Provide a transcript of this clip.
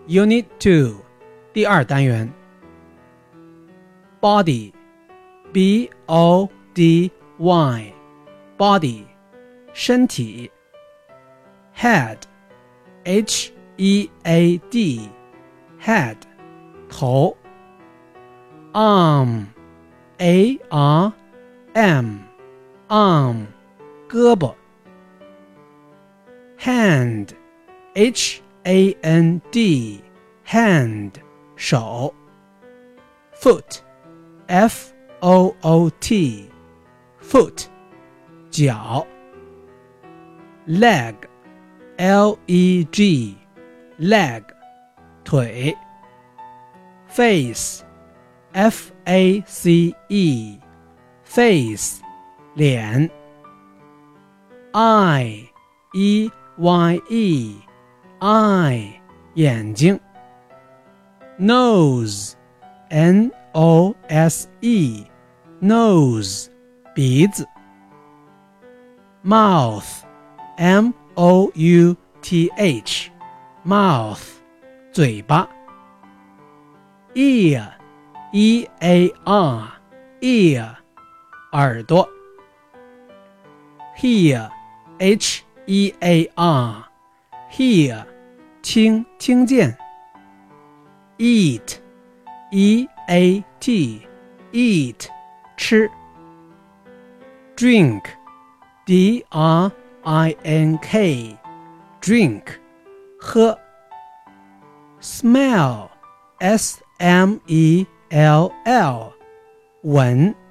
Unit 2 第二单元 Body B-O-D-Y Body 身体 Head H-E-A-D Head 头 Arm A-R-M Arm 胳膊 Hand H-A-N-D Hand 手 Foot F-O-O-T Foot 脚 Leg L-E-G Leg 腿 Face F-A-C-E Face 脸 Eye E-Y-E Eye 眼睛 Nose N-O-S-E Nose 鼻子 Mouth M-O-U-T-H Mouth 嘴巴 Ear E-A-R Ear 耳朵 Hear H-E-A-R Hear 听见 Eat E-A-T Eat 吃 Drink D-R-I-N-K Drink 喝 Smell S-M-E-L-L 闻